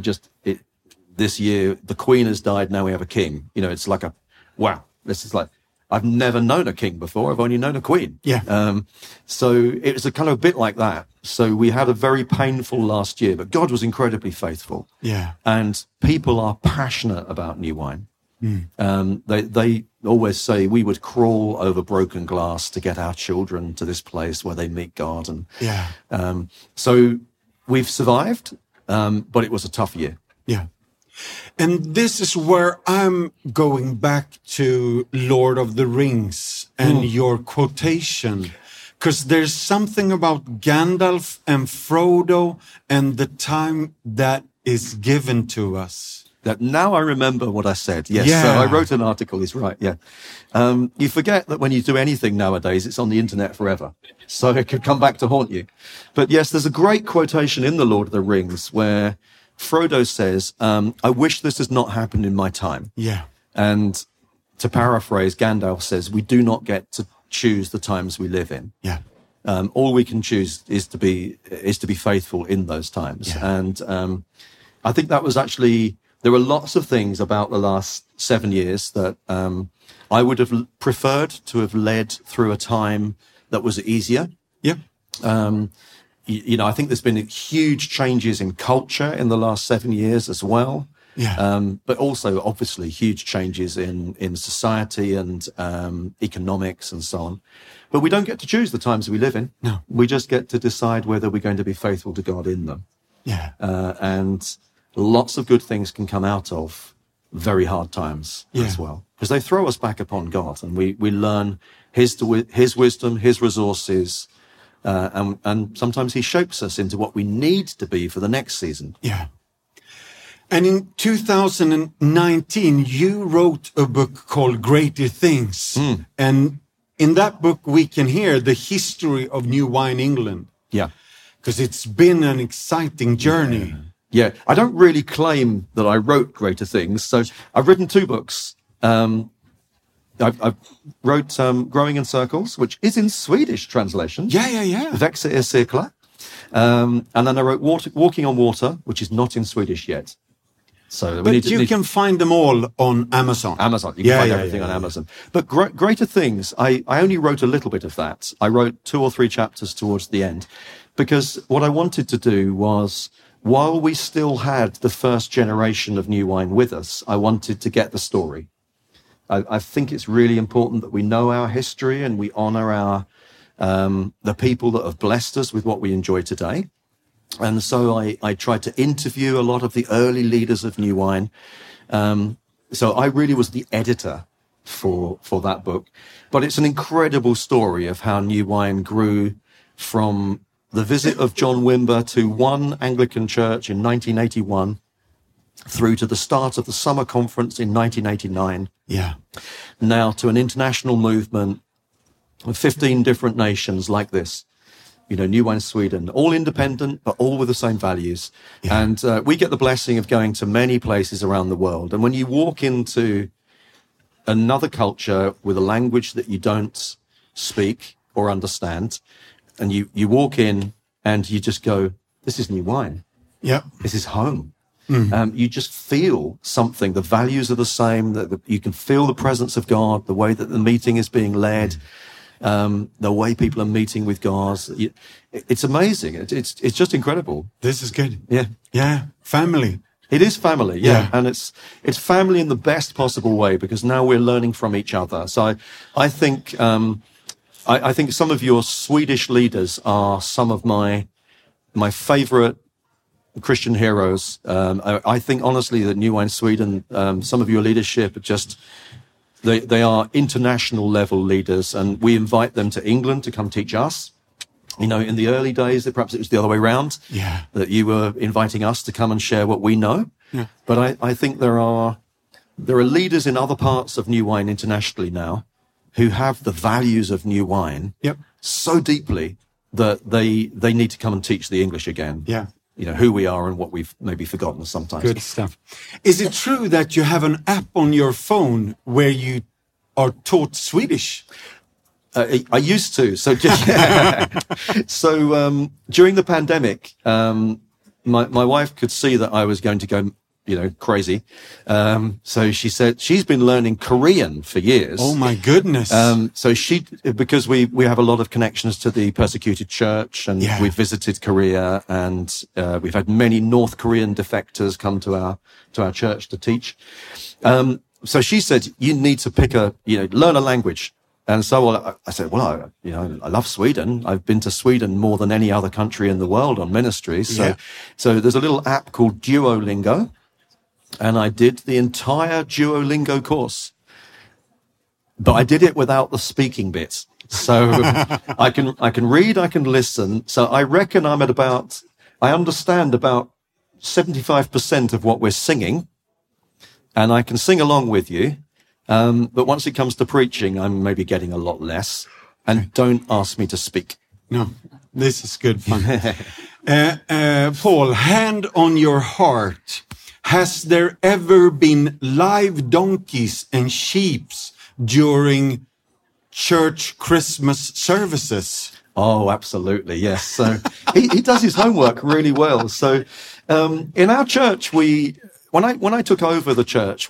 this year, the Queen has died, now we have a king. It's like wow, this is like, I've never known a king before. I've only known a queen. Yeah. So it was a kind of a bit like that. So we had a very painful last year, but God was incredibly faithful. Yeah. And people are passionate about New Wine. They always say we would crawl over broken glass to get our children to this place where they meet God. And so we've survived, but it was a tough year. Yeah. And this is where I'm going back to Lord of the Rings and your quotation. Because there's something about Gandalf and Frodo and the time that is given to us. That now I remember what I said. Yes, Yeah. so I wrote an article. He's right. Yeah, you forget that when you do anything nowadays, it's on the internet forever, so it could come back to haunt you. But yes, there's a great quotation in The Lord of the Rings where Frodo says, "I wish this has not happened in my time." Yeah. And to paraphrase, Gandalf says, "We do not get to choose the times we live in. Yeah. All we can choose is to be faithful in those times." Yeah. And I think that was actually. There were lots of things about the last 7 years that I would have preferred to have led through a time that was easier. Yeah. I think there's been huge changes in culture in the last 7 years as well. Yeah. But also, obviously, huge changes in society and economics and so on. But we don't get to choose the times we live in. No. We just get to decide whether we're going to be faithful to God in them. Yeah. And lots of good things can come out of very hard times as well, because they throw us back upon God, and we learn his wisdom, his resources, and sometimes he shapes us into what we need to be for the next season. Yeah. And in 2019, you wrote a book called Greater Things. And in that book, we can hear the history of New Wine England. Yeah. Because it's been an exciting journey. Yeah, I don't really claim that I wrote Greater Things. So I've written 2 books. I wrote Growing in Circles, which is in Swedish translation. Yeah. Växa i cirklar. And then I wrote Walking on Water, which is not in Swedish yet. So But you can find them all on Amazon. Amazon. You can find everything on Amazon. But Greater Things, I only wrote a little bit of that. I wrote 2 or 3 chapters towards the end, because what I wanted to do was, while we still had the first generation of New Wine with us, I wanted to get the story. I think it's really important that we know our history and we honor the people that have blessed us with what we enjoy today. And so I tried to interview a lot of the early leaders of New Wine. So I really was the editor for that book. But it's an incredible story of how New Wine grew from the visit of John Wimber to one Anglican church in 1981 through to the start of the summer conference in 1989. Yeah. Now to an international movement of 15 different nations like this. New Wine Sweden, all independent, but all with the same values. Yeah. And we get the blessing of going to many places around the world. And when you walk into another culture with a language that you don't speak or understand, and you walk in and you just go, this is New Wine. Yeah. This is home. You just feel something. The values are the same. That you can feel the presence of God, the way that the meeting is being led. The way people are meeting with God. It's amazing. It's just incredible. This is good. Yeah. Yeah. Family. It is family. Yeah. And it's family in the best possible way, because now we're learning from each other. So I think, I think some of your Swedish leaders are some of my favorite Christian heroes. I think honestly that New Wine Sweden, some of your leadership are just, They are international level leaders, and we invite them to England to come teach us. In the early days, perhaps it was the other way around. Yeah. That you were inviting us to come and share what we know. Yeah. But I think there are leaders in other parts of New Wine internationally now who have the values of New Wine so deeply that they need to come and teach the English again. Yeah. Who we are and what we've maybe forgotten sometimes. Good stuff. Is it true that you have an app on your phone where you are taught Swedish? I used to. So during the pandemic, my wife could see that I was going to go, crazy. So she said she's been learning Korean for years. Oh my goodness. So because we have a lot of connections to the persecuted church, and we've visited Korea, and we've had many North Korean defectors come to our church to teach. So she said, you need to learn a language. And so I said, well, I love Sweden. I've been to Sweden more than any other country in the world on ministries. So there's a little app called Duolingo. And I did the entire Duolingo course, but I did it without the speaking bit. So I can read, I can listen. So I reckon I understand about 75% of what we're singing. and I can sing along with you. But once it comes to preaching, I'm maybe getting a lot less. And don't ask me to speak. No, this is good fun. Paul, hand on your heart. Has there ever been live donkeys and sheep during church Christmas services? Oh, absolutely, yes. So he does his homework really well. So in our church, when I took over the church,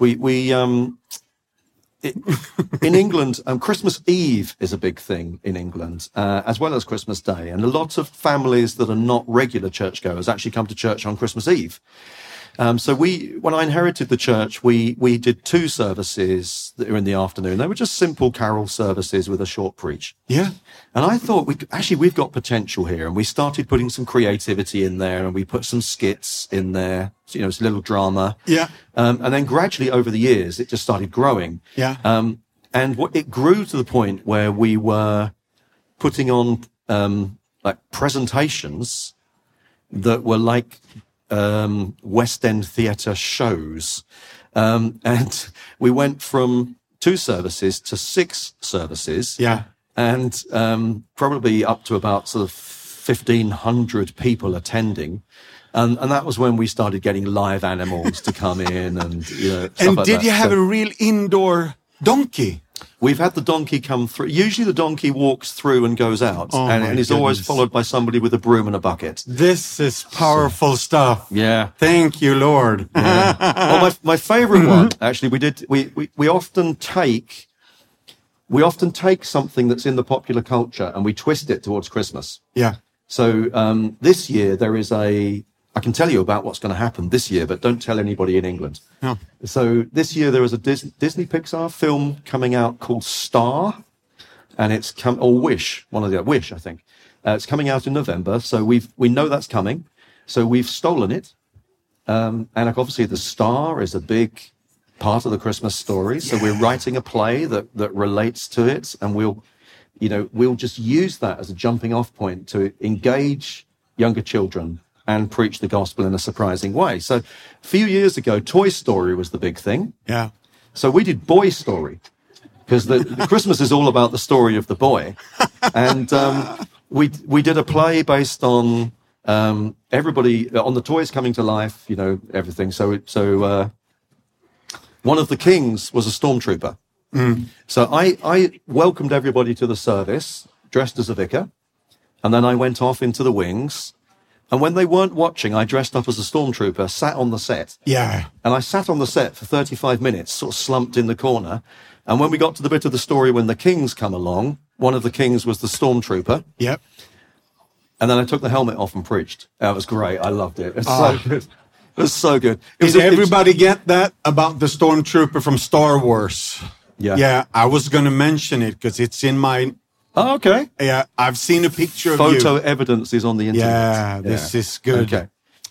in England, Christmas Eve is a big thing in England, as well as Christmas Day. And a lot of families that are not regular churchgoers actually come to church on Christmas Eve. So when I inherited the church, we did 2 services that were in the afternoon. They were just simple carol services with a short preach. Yeah. And I thought we've got potential here. And we started putting some creativity in there, and we put some skits in there, it's a little drama. Yeah. And then gradually over the years, it just started growing. Yeah. And it grew to the point where we were putting on, like presentations that were like, West End theatre shows. And we went from 2 services to 6 services. Yeah. And probably up to about sort of 1,500 people attending. And that was when we started getting live animals to come in and, stuff and like did that. you have a real indoor donkey? We've had the donkey come through. Usually the donkey walks through and goes out, and he's always followed by somebody with a broom and a bucket. This is powerful stuff. Yeah. Thank you, Lord. Yeah. Well, my favorite one, actually, we often take something that's in the popular culture and we twist it towards Christmas. Yeah. So this year I can tell you about what's going to happen this year, but don't tell anybody in England. No. So this year there is a Disney Pixar film coming out called Star, and it's Wish, Wish, I think. It's coming out in November, so we know that's coming. So we've stolen it, and obviously the star is a big part of the Christmas story. So we're writing a play that relates to it, and we'll just use that as a jumping off point to engage younger children and preach the gospel in a surprising way. So a few years ago, Toy Story was the big thing. Yeah. So we did Boy Story, because the Christmas is all about the story of the boy. And we did a play based on everybody, on the toys coming to life, everything. So one of the kings was a stormtrooper. Mm. So I welcomed everybody to the service, dressed as a vicar, and then I went off into the wings. And when they weren't watching, I dressed up as a stormtrooper, sat on the set. Yeah. And I sat on the set for 35 minutes, sort of slumped in the corner. And when we got to the bit of the story when the kings come along, one of the kings was the stormtrooper. Yep. And then I took the helmet off and preached. That was great. I loved it. It was so good. It was so good. Did everybody get that about the stormtrooper from Star Wars? Yeah. Yeah, I was going to mention it because it's in my... Oh, okay. Yeah, I've seen a picture of you. Photo evidence is on the internet. Yeah, this is good. Okay.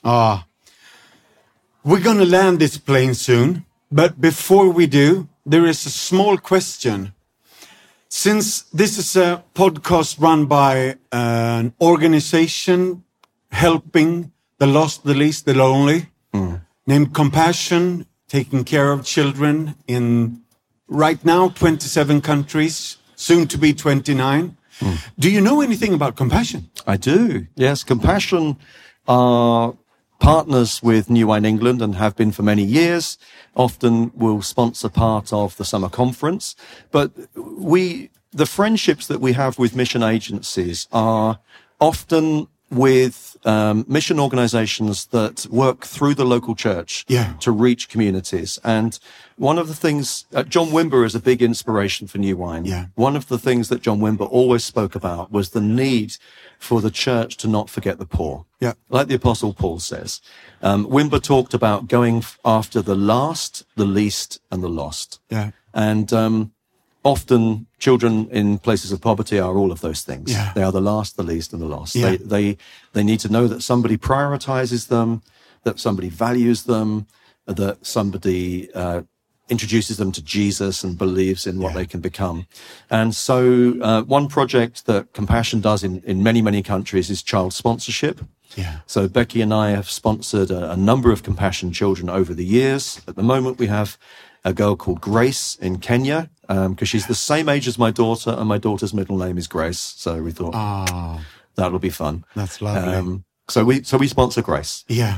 We're going to land this plane soon. But before we do, there is a small question. Since this is a podcast run by an organization helping the lost, the least, the lonely, named Compassion, taking care of children in right now 27 countries, soon to be 29. Do you know anything about Compassion? I do. Yes, Compassion are partners with New Wine England and have been for many years. Often will sponsor part of the summer conference. But the friendships that we have with mission agencies are often with mission organizations that work through the local church to reach communities. And one of the things, John Wimber is a big inspiration for New Wine. Yeah. One of the things that John Wimber always spoke about was the need for the church to not forget the poor. Yeah. Like the Apostle Paul says. Wimber talked about going after the last, the least, and the lost. Yeah. And often children in places of poverty are all of those things. Yeah. They are the last, the least, and the lost. Yeah. They need to know that somebody prioritizes them, that somebody values them, that somebody introduces them to Jesus and believes in what they can become. And so one project that Compassion does in many, many countries is child sponsorship. Yeah. So Becky and I have sponsored a number of Compassion children over the years. At the moment, we have a girl called Grace in Kenya, because she's the same age as my daughter, and my daughter's middle name is Grace. So we thought that'll be fun. That's lovely. So we sponsor Grace. Yeah.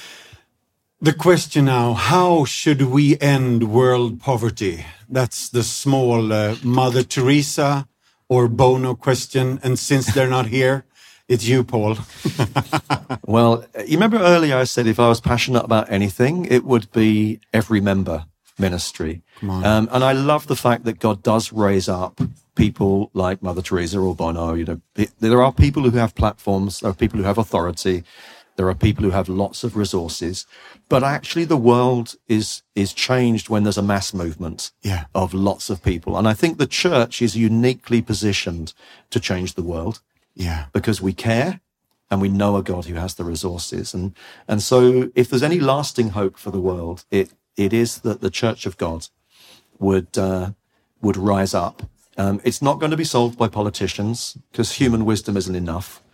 The question now, how should we end world poverty? That's the small Mother Teresa or Bono question. And since they're not here, it's you, Paul. Well, you remember earlier I said if I was passionate about anything, it would be every member ministry. Come on. And I love the fact that God does raise up people like Mother Teresa or Bono. You know, there are people who have platforms, there are people who have authority, there are people who have lots of resources, but actually the world is changed when there's a mass movement of lots of people. And I think the church is uniquely positioned to change the world. Yeah. Because we care and we know a God who has the resources. And so if there's any lasting hope for the world, it is that the Church of God would rise up. It's not going to be solved by politicians because human wisdom isn't enough.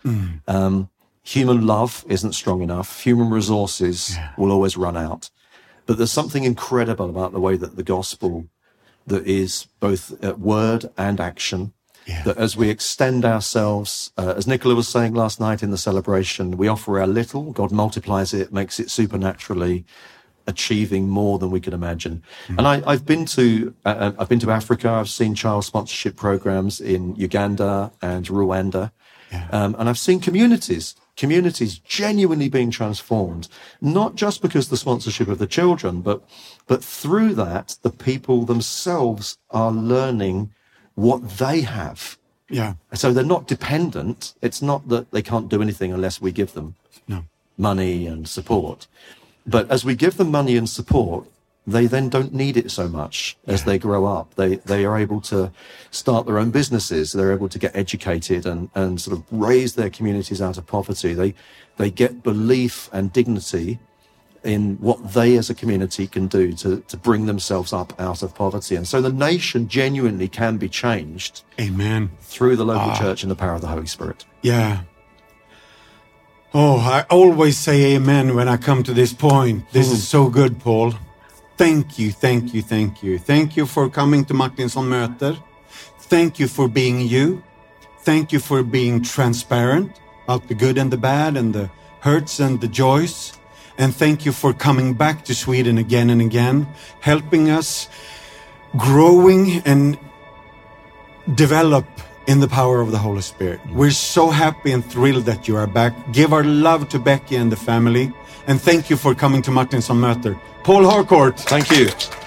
Human love isn't strong enough. Human resources will always run out. But there's something incredible about the way that the gospel, that is both word and action, that as we extend ourselves, as Nicola was saying last night in the celebration, we offer our little, God multiplies it, makes it supernaturally achieving more than we could imagine. And I've been to Africa. I've seen child sponsorship programs in Uganda and Rwanda. And I've seen communities genuinely being transformed, not just because of the sponsorship of the children, but through that, the people themselves are learning what they have. Yeah. So they're not dependent. It's not that they can't do anything unless we give them money and support. But as we give them money and support, they then don't need it so much as they grow up. They are able to start their own businesses. They're able to get educated and sort of raise their communities out of poverty. They get belief and dignity in what they as a community can do to bring themselves up out of poverty. And so the nation genuinely can be changed. Amen. Through the local church and the power of the Holy Spirit. Yeah. Oh, I always say amen when I come to this point. This is so good, Paul. Thank you, thank you, thank you. Thank you for coming to Martinsson Möter. Thank you for being you. Thank you for being transparent about the good and the bad and the hurts and the joys. And thank you for coming back to Sweden again and again, helping us growing and develop in the power of the Holy Spirit. We're so happy and thrilled that you are back. Give our love to Becky and the family. And thank you for coming to Martinsson Möter. Paul Harcourt. Thank you.